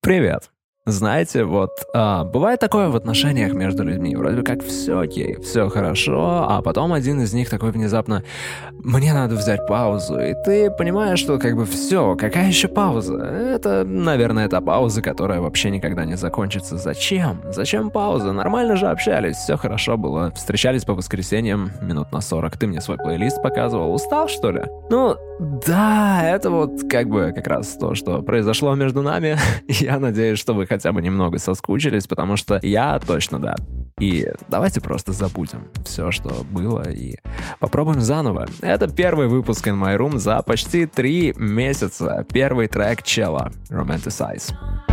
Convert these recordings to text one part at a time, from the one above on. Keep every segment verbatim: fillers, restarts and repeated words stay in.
Привет. Знаете, вот а, бывает такое в отношениях между людьми, вроде как все окей, все хорошо, а потом один из них такой внезапно: мне надо взять паузу, и ты понимаешь, что как бы все, какая еще пауза? Это, наверное, та пауза, которая вообще никогда не закончится. Зачем? Зачем пауза? Нормально же общались, все хорошо было, встречались по воскресеньям минут на сорок, ты мне свой плейлист показывал, устал, что ли? Ну, да, это вот как бы как раз то, что произошло между нами. Я надеюсь, что вы хотя бы немного соскучились, потому что я точно да. И давайте просто забудем все, что было, и попробуем заново. Это первый выпуск In My Room за почти три месяца. Первый трек Челла Romanticize.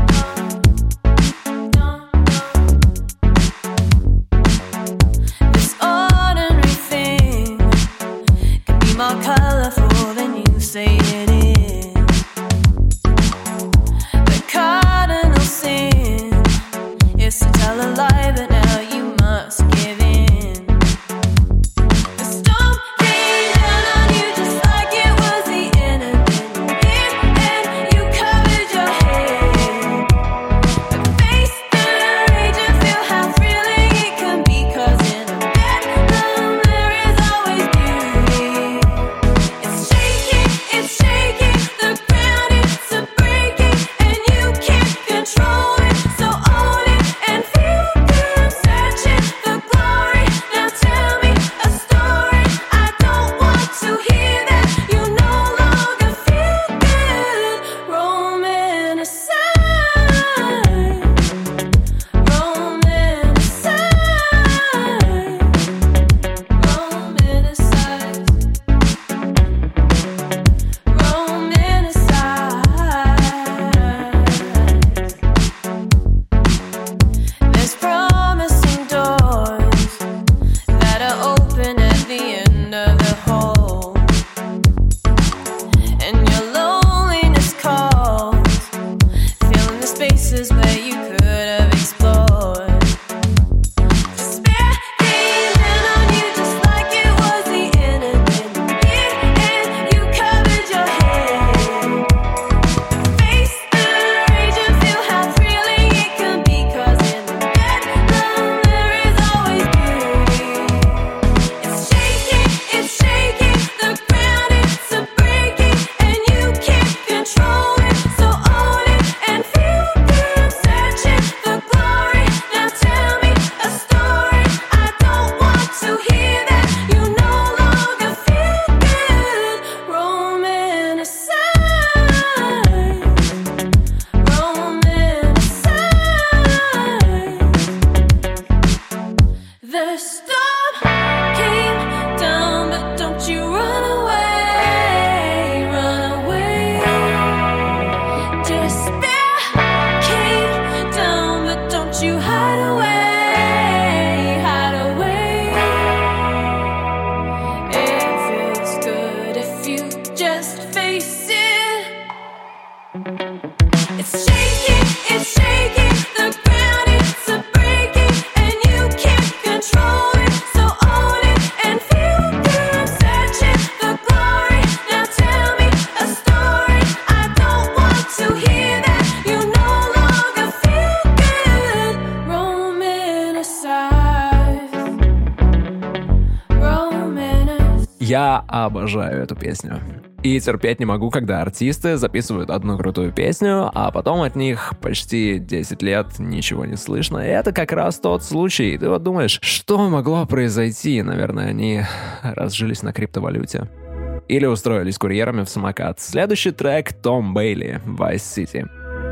Я обожаю эту песню. И терпеть не могу, когда артисты записывают одну крутую песню, а потом от них почти десять лет ничего не слышно. И это как раз тот случай. Ты вот думаешь, что могло произойти? Наверное, они разжились на криптовалюте. Или устроились курьерами в самокат. Следующий трек Том Бейли, Vice City.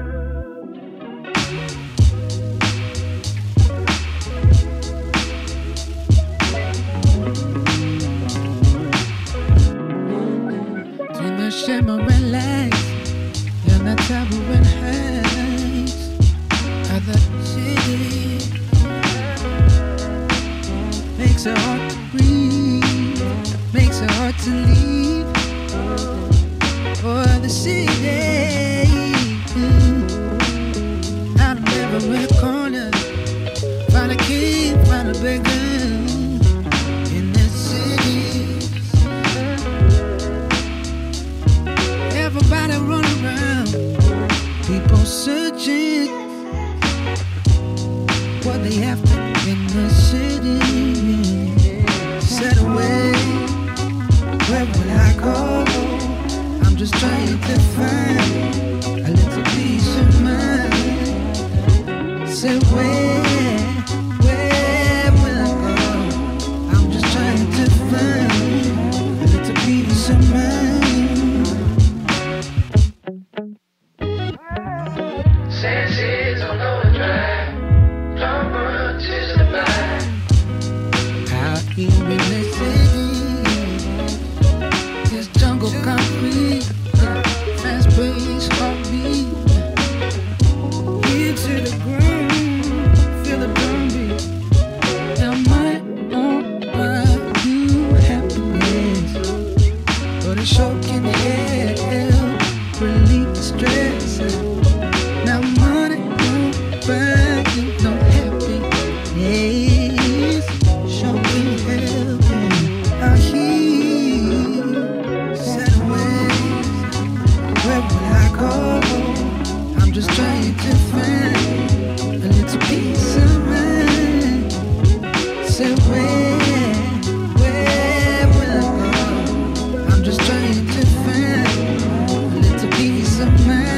Shame or relax, you're not trouble when hurts other city makes it hard to breathe, makes it hard to leave for the city. Out of every corner, find a key, find a beggar. Everybody run around, people searching what they after in the city. Said away, where will I go? I'm just trying to find a little peace of mind. Said where, where will I go? I'm just trying to find a little peace of mind. Senses on overdrive, long runs is the mind. Out here in the city, this jungle concrete, fast paced heartbeat, here to the ground, feel the drum beat. Now my own brought you happiness, but it sure can help relieve the stress. Now money won't buy you no happiness, sure can help you. I hear said away, where will I go? I'm just trying to find a little peace of mind. Said where, where will I go? I'm just trying to find a little peace of mind.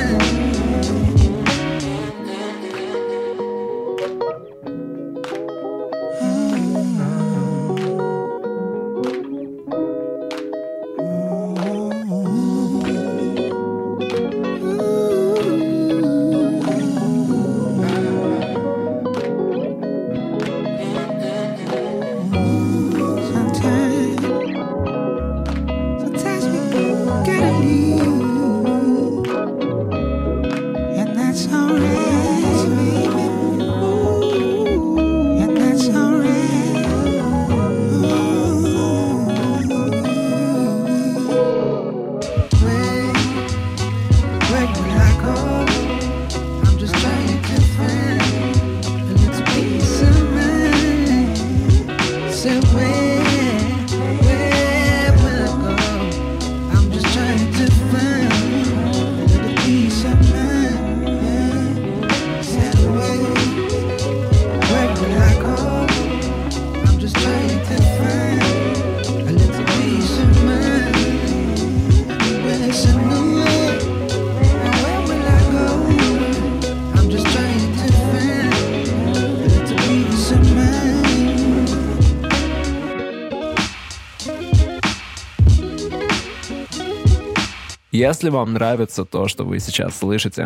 Если вам нравится то, что вы сейчас слышите,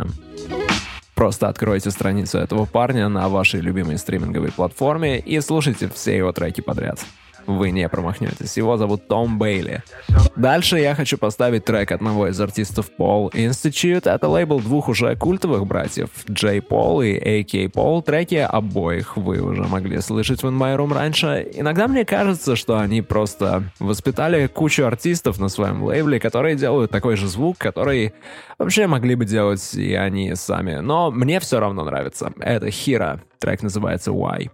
просто откройте страницу этого парня на вашей любимой стриминговой платформе и слушайте все его треки подряд. Вы не промахнетесь. Его зовут Том Бейли. Дальше я хочу поставить трек одного из артистов Paul Institute. Это лейбл двух уже культовых братьев, Джей Пол и эй кей Paul. Треки обоих вы уже могли слышать в In My Room раньше. Иногда мне кажется, что они просто воспитали кучу артистов на своем лейбле, которые делают такой же звук, который вообще могли бы делать и они сами. Но мне все равно нравится. Это Hira. Трек называется Why.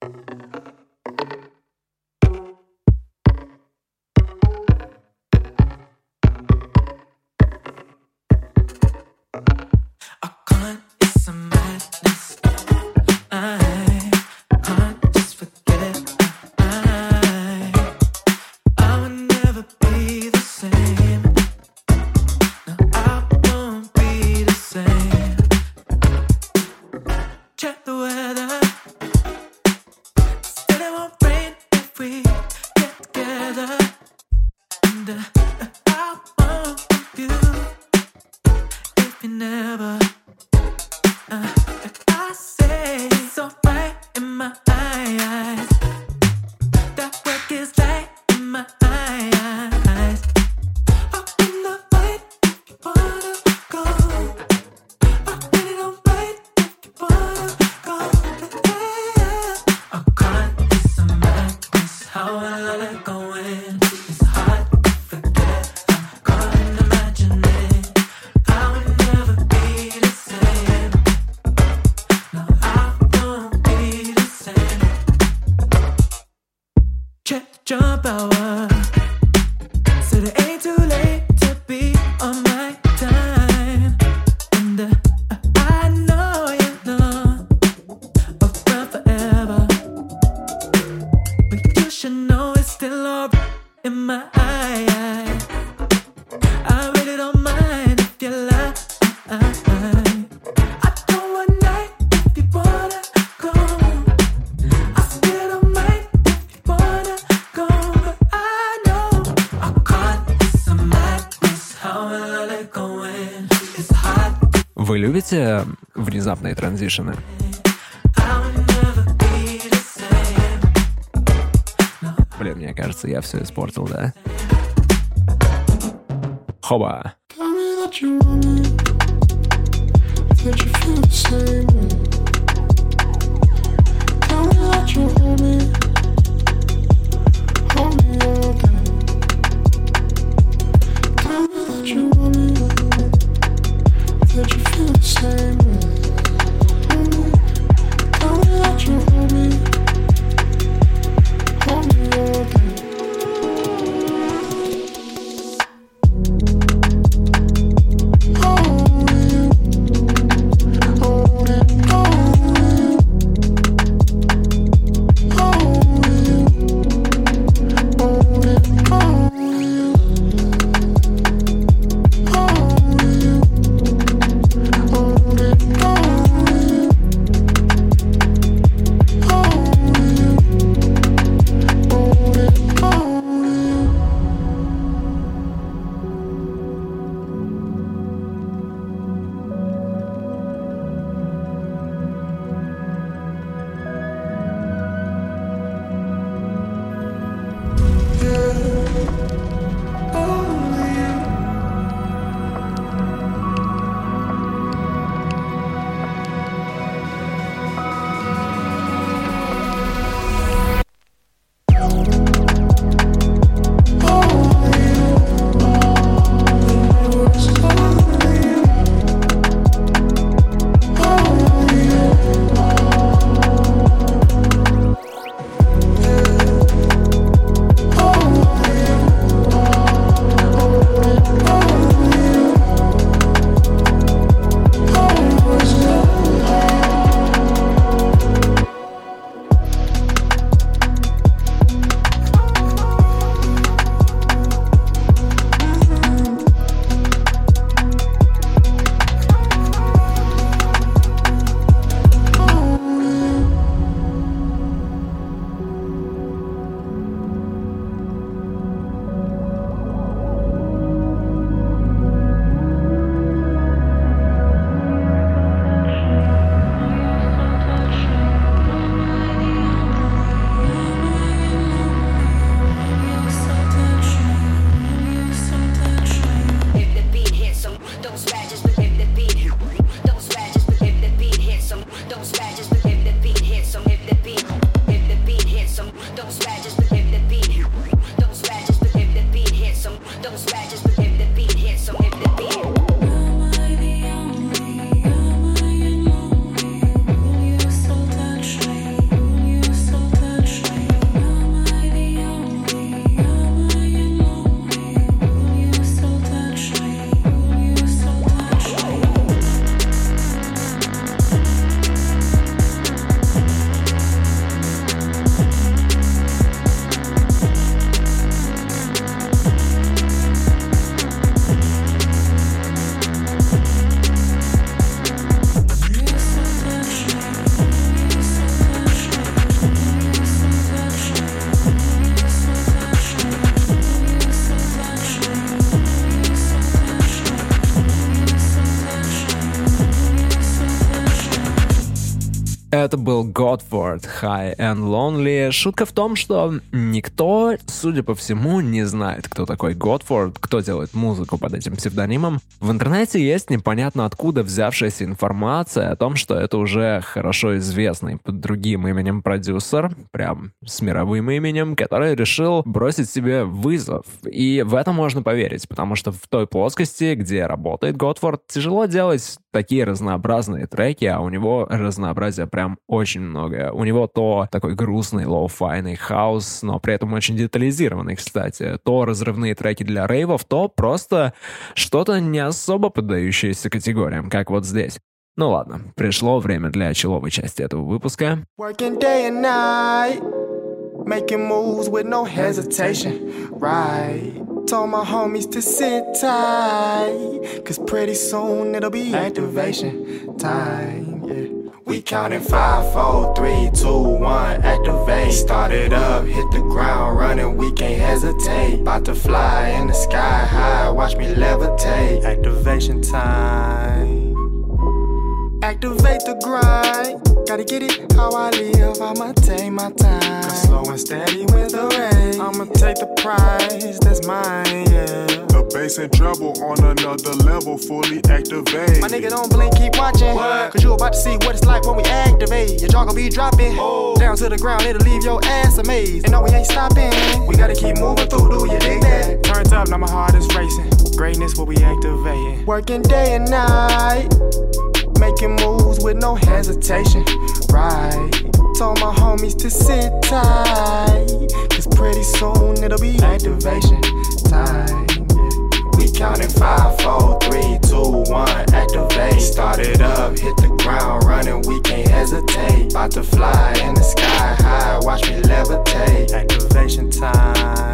Check the weather. jump hour. Said it ain't too late to be on my time. And uh, I все внезапные транзишены. Блин, мне кажется, я все испортил, да? Хоба! Это был Godford, High and Lonely. Шутка в том, что никто, судя по всему, не знает, кто такой Godford, кто делает музыку под этим псевдонимом. В интернете есть непонятно откуда взявшаяся информация о том, что это уже хорошо известный под другим именем продюсер, прям с мировым именем, который решил бросить себе вызов. И в это можно поверить, потому что в той плоскости, где работает Godford, тяжело делать такие разнообразные треки, а у него разнообразия прям очень много. У него то такой грустный, лоу-файный хаус, но при этом очень детализированный, кстати. То разрывные треки для рейвов, то просто что-то не особо поддающееся категориям, как вот здесь. Ну ладно, пришло время для человой части этого выпуска. Working day and night, making moves with no hesitation, right? Told my homies to sit tight, cause pretty soon it'll be activation time, yeah. We counting five, four, three, two, one, activate. Started up, hit the ground running, we can't hesitate. About to fly in the sky high, watch me levitate. Activation time. Activate the grind. Gotta get it how I live. I'ma take my time. Slow and steady with the race. I'ma take the prize. That's mine, yeah. The bass and treble on another level, fully activate. My nigga don't blink, keep watching. What? Cause you about to see what it's like when we activate. Your jaw gon' be dropping. Oh. Down to the ground, it'll leave your ass amazed. And no, we ain't stopping. We gotta keep moving through, do you dig that? Turns up, now my heart is racing. Greatness what we activating. Working day and night. Making moves with no hesitation. Right. Told my homies to sit tight. Cause pretty soon it'll be activation time. We counting five, four, three, two, one, activate. Started up, hit the ground running, we can't hesitate. About to fly in the sky high, watch me levitate. Activation time.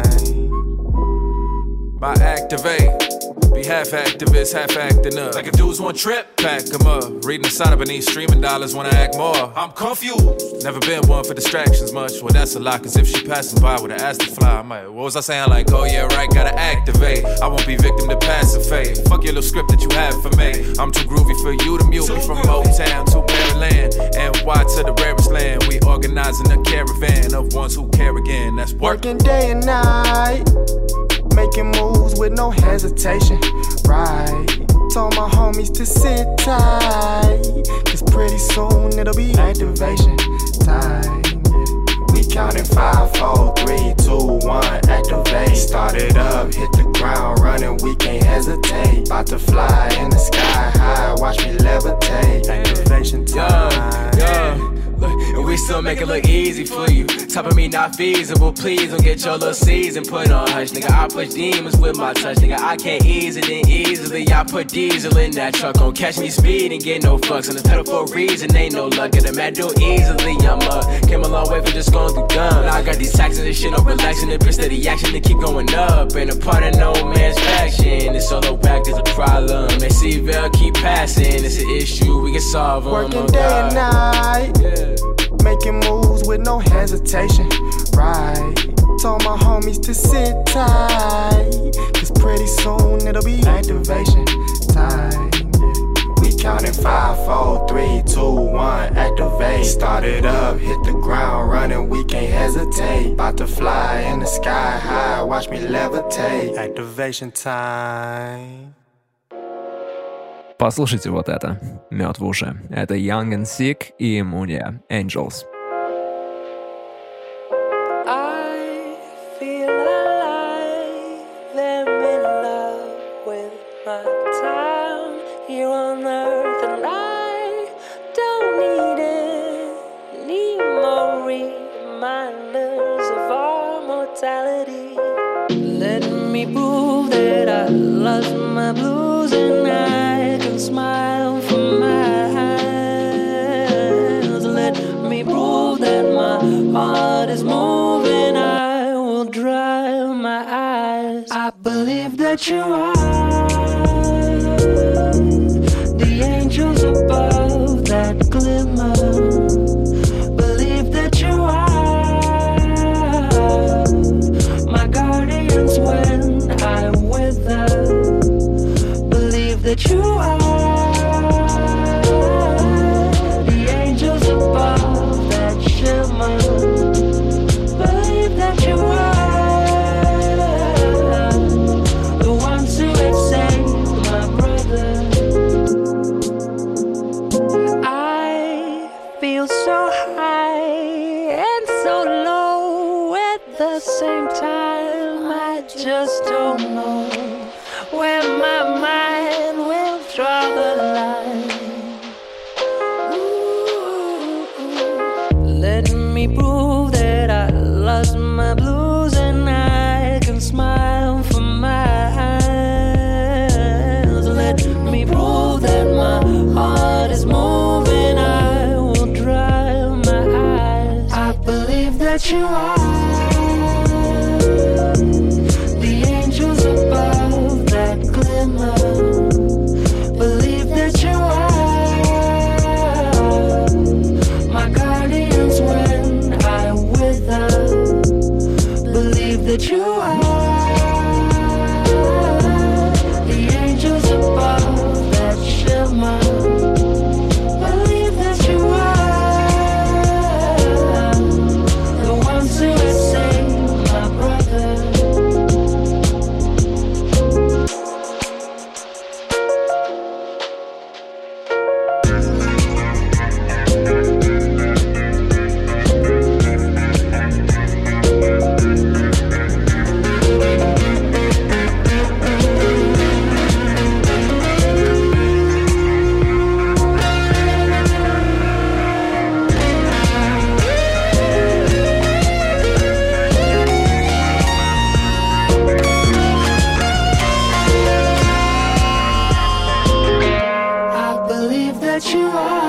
My activate. Be half activist, half acting up. Like if dudes want trip, pack them up. Reading the sign up beneath streaming dollars, wanna act more. I'm confused. Never been one for distractions much. Well, that's a lot, cause if she passing by with an ass to fly, I might, what was I saying? Like, oh yeah, right, gotta activate. I won't be victim to passive fate. Fuck your little script that you have for me. I'm too groovy for you to mute me. From Motown to Maryland, and Y to the rarest land. We organizing a caravan of ones who care again. That's work. Working day and night. Making moves with no hesitation. Right. Told my homies to sit tight. Cause pretty soon it'll be activation time. We counting five, four, three, two, one, activate. Started up, hit the ground running, we can't hesitate. About to fly in the sky high, watch me levitate. Activation time. Yeah, yeah. And we still make it look easy for you. Top of me not feasible, please don't get your little season put on hush. Nigga, I push demons with my touch. Nigga, I can't ease it in easily. I put diesel in that truck. Don't catch me speeding, get no fucks. On the pedal for a reason, ain't no luck. Get a mad do easily, I'm up. Came a long way from just going through guns. Now I got these taxes and shit, no relaxing. The bitch steady action to keep going up. Ain't a part of no man's faction. It's solo back, there's a problem. They see Vel keep passing. It's an issue, we can solve them. Working oh, day God. and night. Yeah. Making moves with no hesitation. Right. Told my homies to sit tight. Cause pretty soon it'll be activation time. We counting five, four, three, two, one, activate. Started up, hit the ground running, we can't hesitate. About to fly in the sky high, watch me levitate. Activation time. Послушайте вот это. Мед в уши. Это Young and Sick и Munia Angels. I feel alive. I'm in love with my time here on earth, and I don't need any more reminders of our mortality. Let me prove that I lost my blues and I can smile from my eyes. Let me prove that my heart is moving. I will dry my eyes. I believe that you are the angels above that glimmer. Believe that you are my guardians when I wither. Believe that you are the angels above that shimmer. Believe that you are the ones who have saved my brother. I feel so high and so low at the same time. I just don't know where my mind will draw the line. Ooh, let me prove that I lost my blues and I can smile from my eyes. Let me prove that my heart is moving. I will dry my eyes. I believe that you are the angels above that glimmer. Believe that you are my guardians when I wither. Believe that you are the angels above that shimmer. you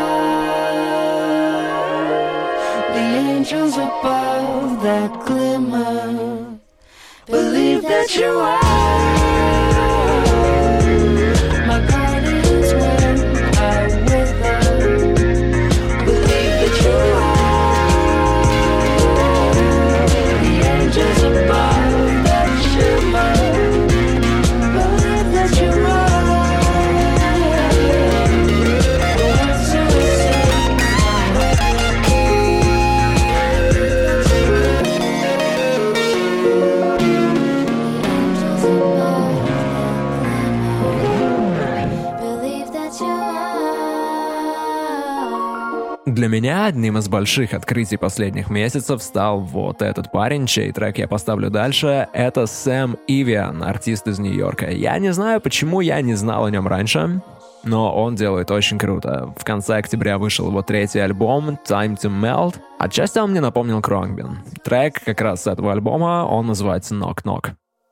are the angels above that glimmer. Believe that you are my guardians when I wither. Believe that you are the angels above that shimmer. Believe that you are the ones who Для меня одним из больших открытий последних месяцев стал вот этот парень, чей трек я поставлю дальше. Это Сэм Ивиан, артист из Нью-Йорка. Я не знаю, почему я не знал о нем раньше, но он делает очень круто. В конце октября вышел его третий альбом «Time to Melt». Отчасти он мне напомнил Khruangbin. Трек как раз с этого альбома, он называется «Knock Knock».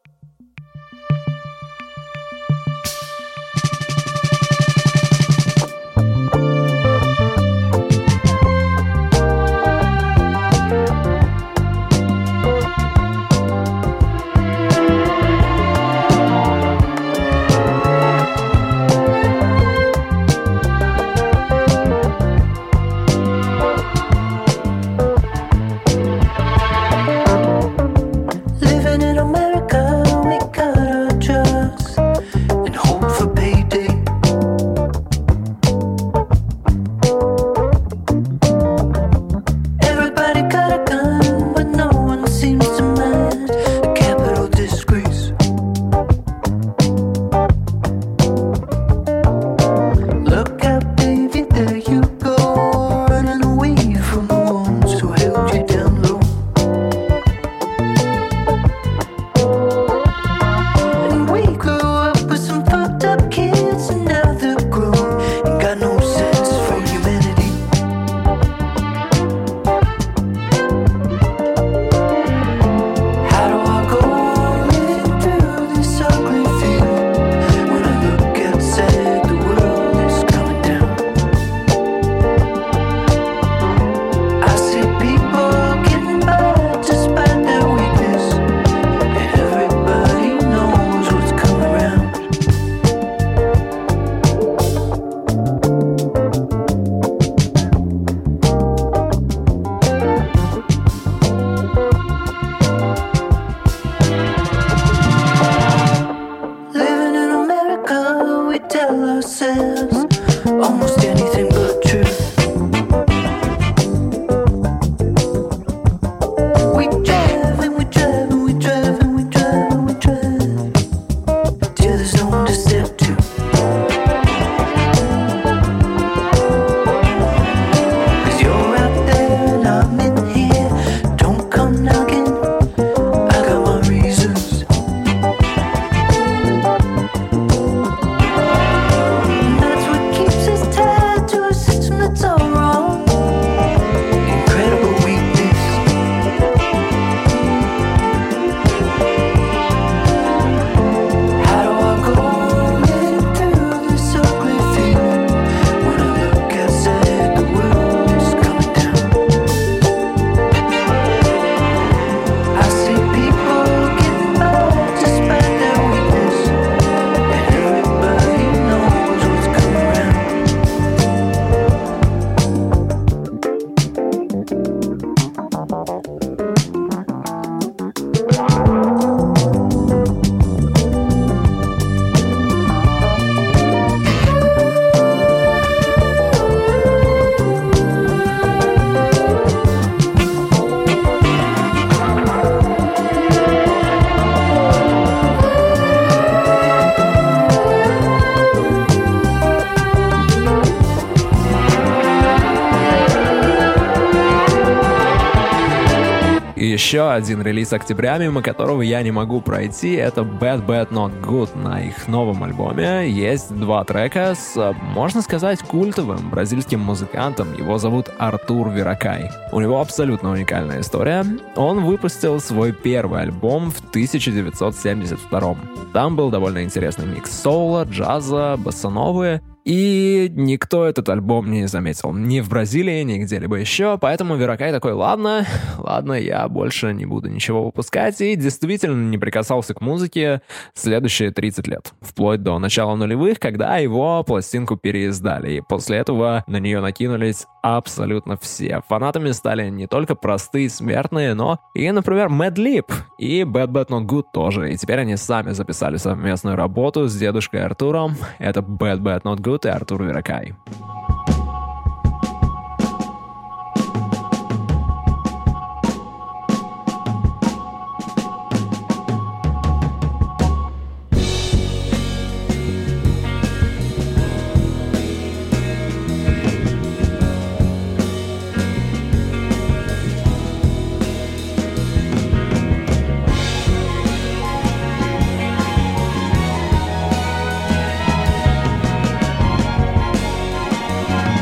Еще один релиз октября, мимо которого я не могу пройти, это Bad Bad Not Good. На их новом альбоме есть два трека с, можно сказать, культовым бразильским музыкантом. Его зовут Артур Веракай. У него абсолютно уникальная история. Он выпустил свой первый альбом в тысяча девятьсот семьдесят втором. Там был довольно интересный микс соула, джаза, боссановы. И никто этот альбом не заметил. Ни в Бразилии, ни где-либо еще. Поэтому Веракай такой, ладно, ладно, я больше не буду ничего выпускать. И действительно не прикасался к музыке следующие тридцать лет. Вплоть до начала нулевых, когда его пластинку переиздали. И после этого на нее накинулись абсолютно все. Фанатами стали не только простые смертные, но и, например, Madlib и Bad Bad Not Good тоже. И теперь они сами записали совместную работу с дедушкой Артуром. Это Bad Bad Not Good и Артур Веракай. Thank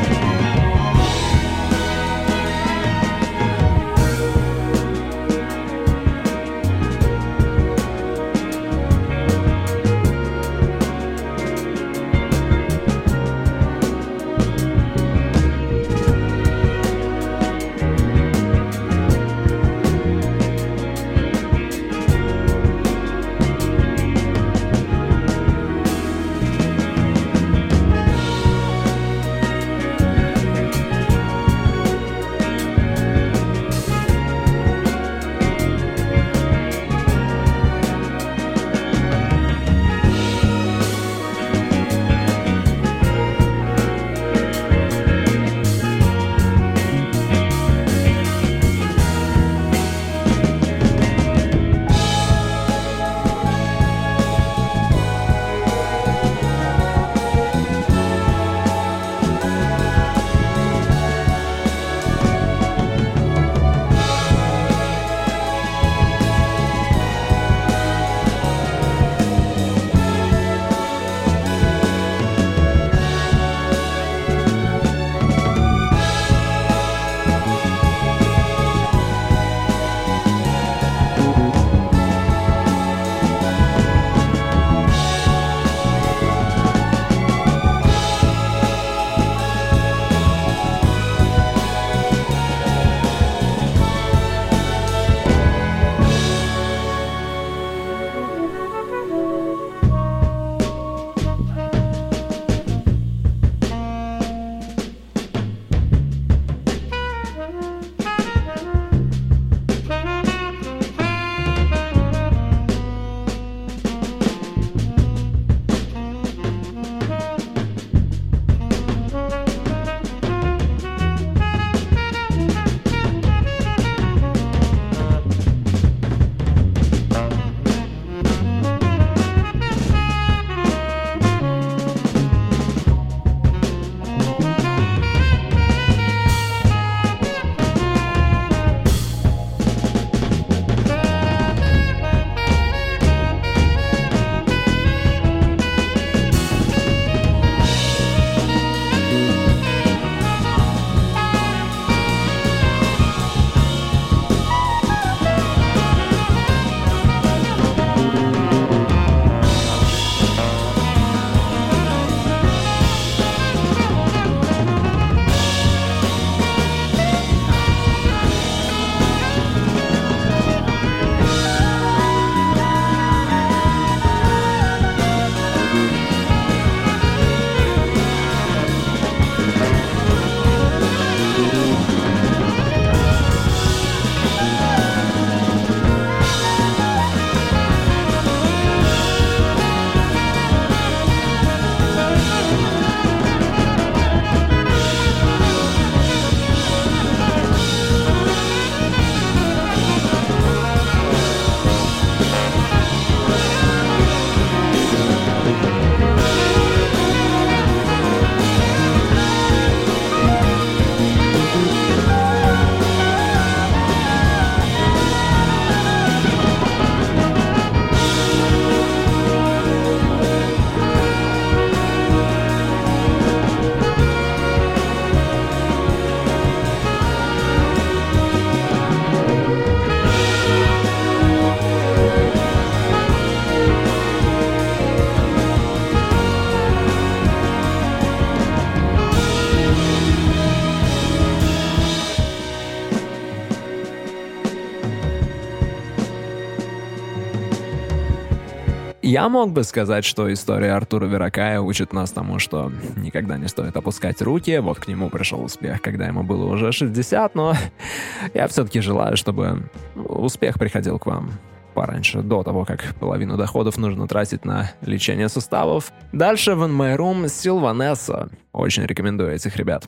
Я мог бы сказать, что история Артура Веракая учит нас тому, что никогда не стоит опускать руки. Вот к нему пришел успех, когда ему было уже шестьдесят, но я все-таки желаю, чтобы успех приходил к вам пораньше, до того, как половину доходов нужно тратить на лечение суставов. Дальше в In My Room Сильванесса. Очень рекомендую этих ребят.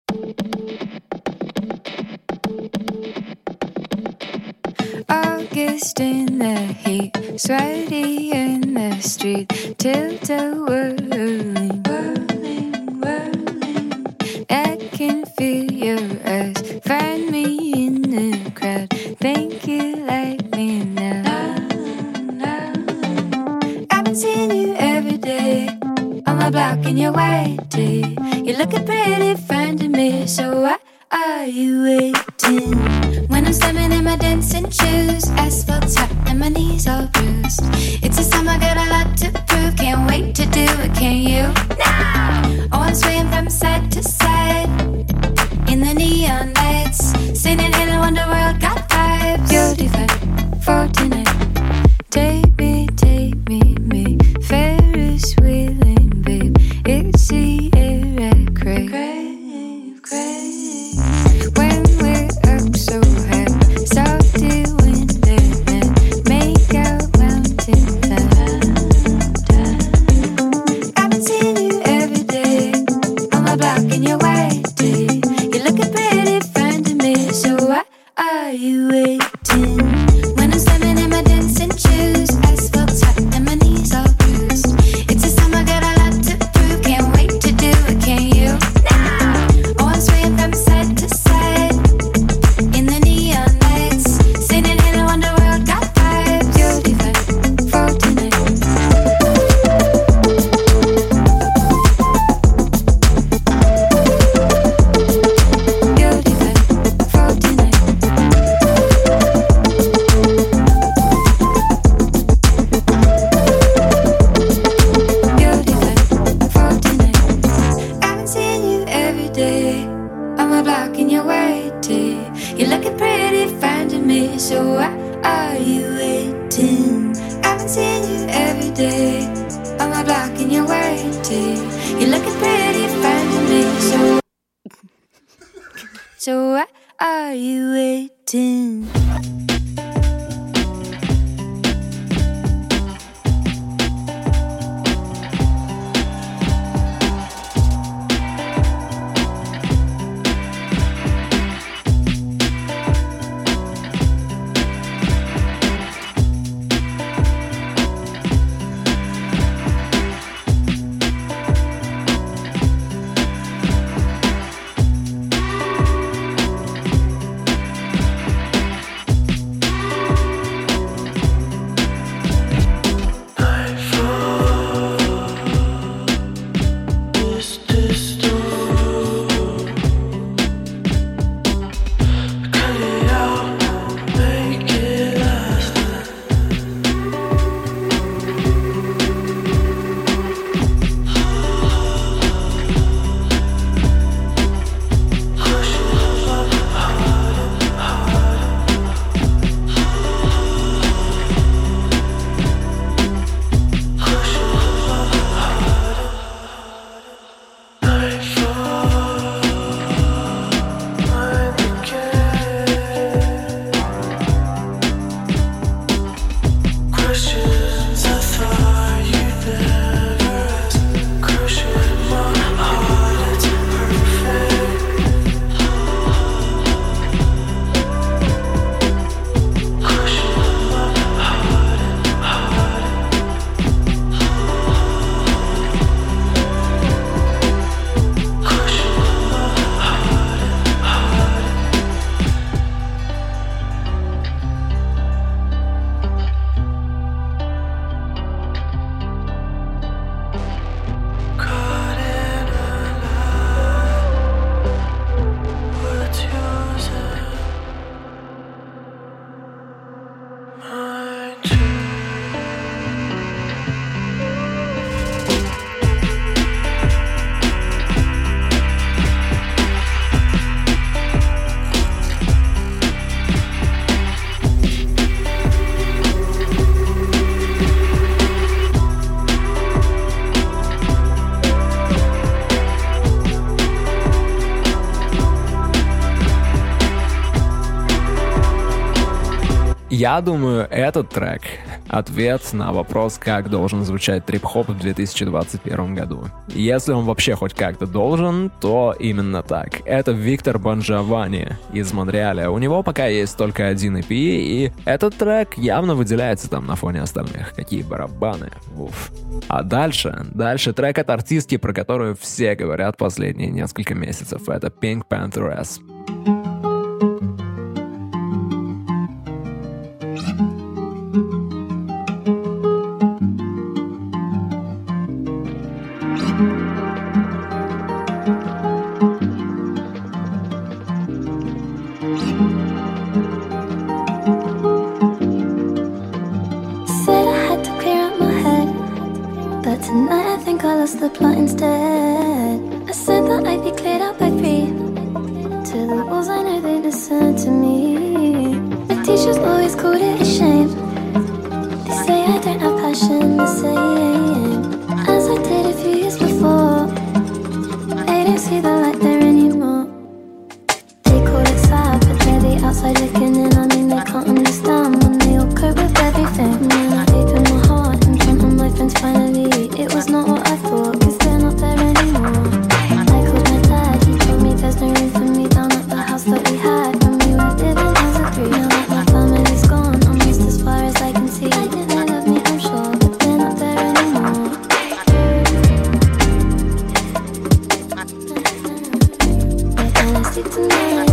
August in the heat, sweaty in the street, tilted whirling, whirling, whirling. I can feel your eyes, find me in the crowd. Think you like me now? I've been seeing you every day on my block in your white tee. You're looking pretty fine to me, so why are you waiting? When I'm standing in my dancing shoes, asphalt's hot and my knees all bruised. It's a summer, got a lot to prove. Can't wait to do it, can you? Now! Oh, I'm swaying from side to side in the neon lights, singing Hello Underworld, got vibes. You're divine for tonight. Take me, take me, me, Ferris wheeling, babe. It's the air I crave. crave, crave. When we're up so high, salty winter night, make our mountain climb. I've been seeing you every day on my block in your white tee. You're looking pretty fine to me, so why are you waiting? When I'm standing in my dancing shoes, asphalt's hot and my knees all bruised. It's a summer, got a lot to prove. Can't wait to do it, can you? Now! Oh, I'm swaying from side to side in the neon lights, singing Hello Underworld, got vibes. You're divine for tonight. You're divine for tonight. You're divine for tonight. I've been seeing you every day on my block in your white tee. You're looking pretty fine to me, so why are you waiting? I've been seeing you every day on my block in your white tee. You're looking pretty fine to me, so so why are you waiting? Я думаю, этот трек — ответ на вопрос, как должен звучать трип-хоп в две тысячи двадцать первом году. Если он вообще хоть как-то должен, то именно так. Это Виктор Бонжавани из Монреаля. У него пока есть только один и пи, и этот трек явно выделяется там на фоне остальных. Какие барабаны. Уф. А дальше, дальше трек от артистки, про которую все говорят последние несколько месяцев. Это Pink Pantheress. The plot instead. I said that I'd be cleared out by three. To the walls, I know they listen to me. The teachers always called it a shame. They say I don't have passion the same as I did a few years before. They don't see the light there anymore. They call it sad, but they're the outside looking in. I mean, they can't understand when they all cope with everything. And then I opened my heart in front of my friends finally. It was not what I thought, cause they're not there anymore. I called my dad, he told me there's no room for me down at the house that we had when we were living as a three. Now that my family's gone, I'm just as far as I can see. They love me, I'm sure, but they're not there anymore. They're honesty tonight.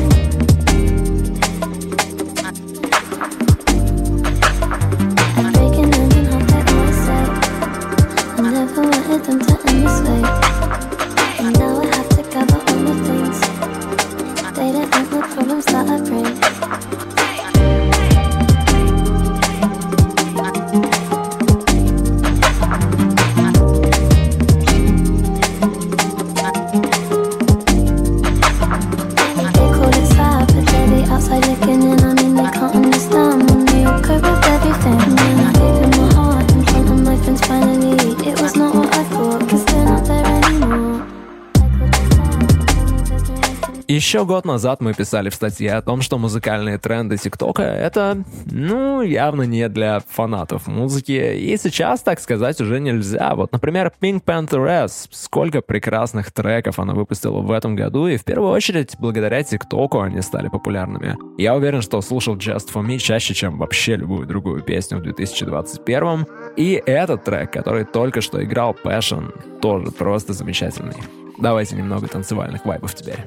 I'm breaking them in half like my sight. I never wanted them to end this way. And now I have to gather all the things. They don't know the problems that I bring. They call it sad, but they're the outside looking in. I mean, they can't understand when they all cope with everything. And then I opened my heart in front of my friends finally. It was not what I thought, cause they're not there anymore. Еще год назад мы писали в статье о том, что музыкальные тренды ТикТока — это, ну, явно не для фанатов музыки, и сейчас, так сказать, уже нельзя. Вот, например, Pink Pantheress, сколько прекрасных треков она выпустила в этом году, и в первую очередь благодаря ТикТоку они стали популярными. Я уверен, что слушал Just For Me чаще, чем вообще любую другую песню в две тысячи двадцать первом, и этот трек, который только что играл, Passion, тоже просто замечательный. Давайте немного танцевальных вайбов теперь.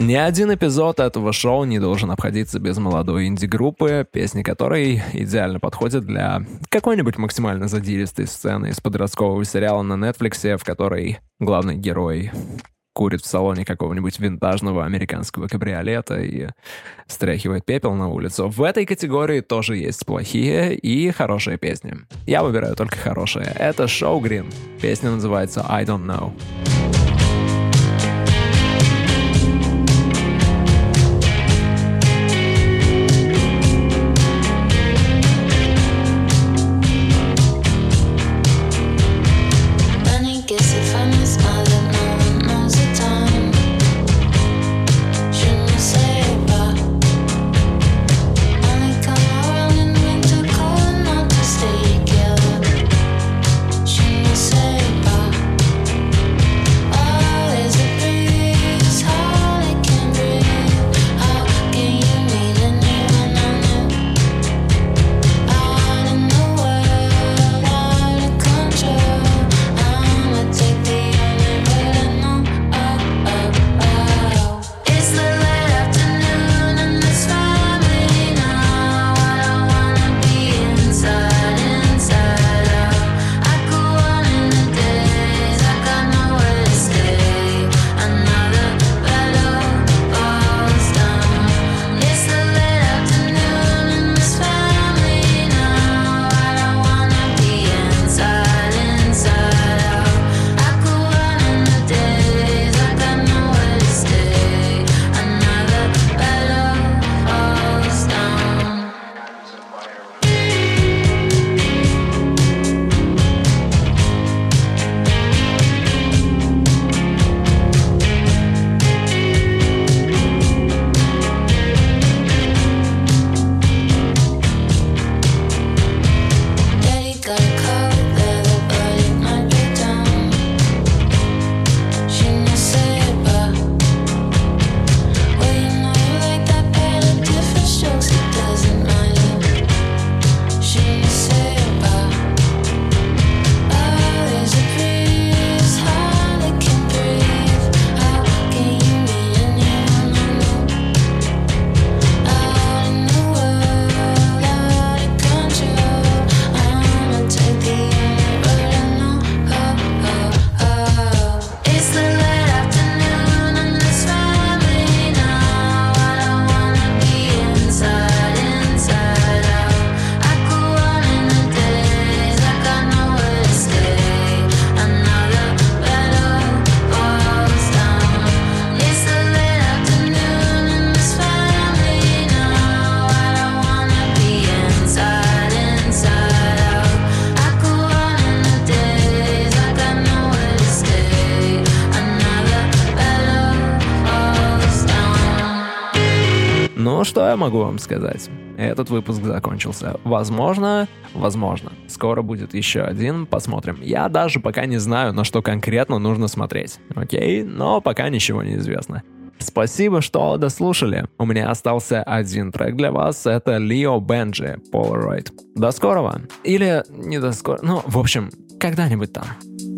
Ни один эпизод этого шоу не должен обходиться без молодой инди-группы, песни которой идеально подходят для какой-нибудь максимально задиристой сцены из подросткового сериала на Netflix, в которой главный герой курит в салоне какого-нибудь винтажного американского кабриолета и стряхивает пепел на улицу. В этой категории тоже есть плохие и хорошие песни. Я выбираю только хорошие. Это Show Green. Песня называется I Don't Know. Ну, что я могу вам сказать? Этот выпуск закончился. Возможно, возможно, скоро будет еще один, посмотрим. Я даже пока не знаю, на что конкретно нужно смотреть. Окей? Но пока ничего не известно. Спасибо, что дослушали. У меня остался один трек для вас. Это Leo Benji, Polaroid. До скорого. Или не до скорого. Ну, в общем, когда-нибудь там.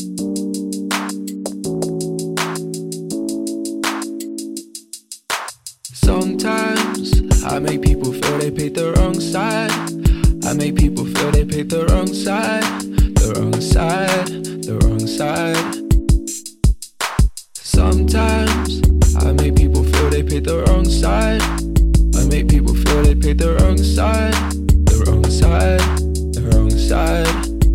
Sometimes I make people feel they picked the wrong side. I make people feel they picked the wrong side. The wrong side, the wrong side. Sometimes I make people feel they picked the wrong side. I make people feel they picked the wrong side. The wrong side, the wrong side.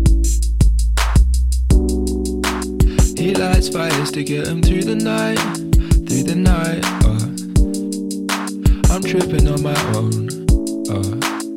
He lights fires to get him through the night, through the night. Uh. I'm tripping on my own. Uh.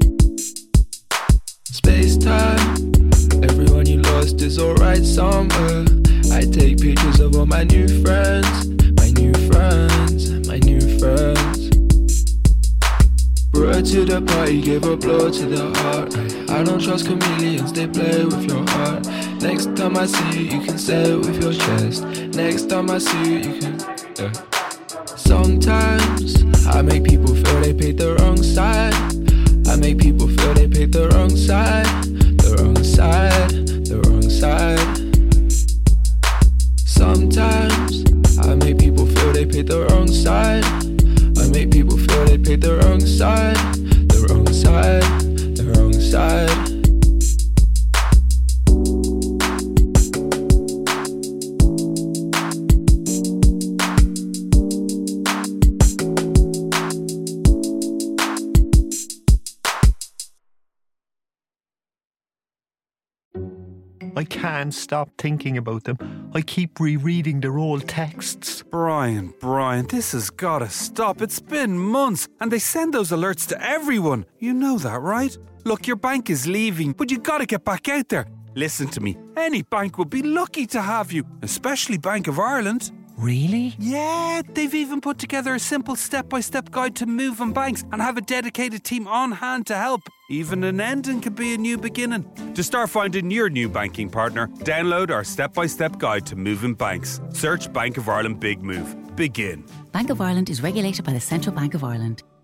Space time, everyone you lost is alright somewhere. I take pictures of all my new friends, my new friends, my new friends. Brought her to the party, gave a blow to the heart. I don't trust chameleons, they play with your heart. Next time I see you, you can say it with your chest. Next time I see you, you can, yeah. Sometimes I make people feel they picked the wrong side. I make people feel they picked the wrong side. The wrong side, the wrong side. Sometimes I make people feel they picked the wrong side. picked the wrong side, the wrong side, the wrong side. I can't stop thinking about them. I keep rereading their old texts. Brian, Brian, this has gotta stop. It's been months, and they send those alerts to everyone. You know that, right? Look, your bank is leaving, but you gotta get back out there. Listen to me. Any bank would be lucky to have you, especially Bank of Ireland. Really? Yeah, they've even put together a simple step-by-step guide to moving banks and have a dedicated team on hand to help. Even an ending could be a new beginning. To start finding your new banking partner, download our step-by-step guide to moving banks. Search Bank of Ireland Big Move. Begin. Bank of Ireland is regulated by the Central Bank of Ireland.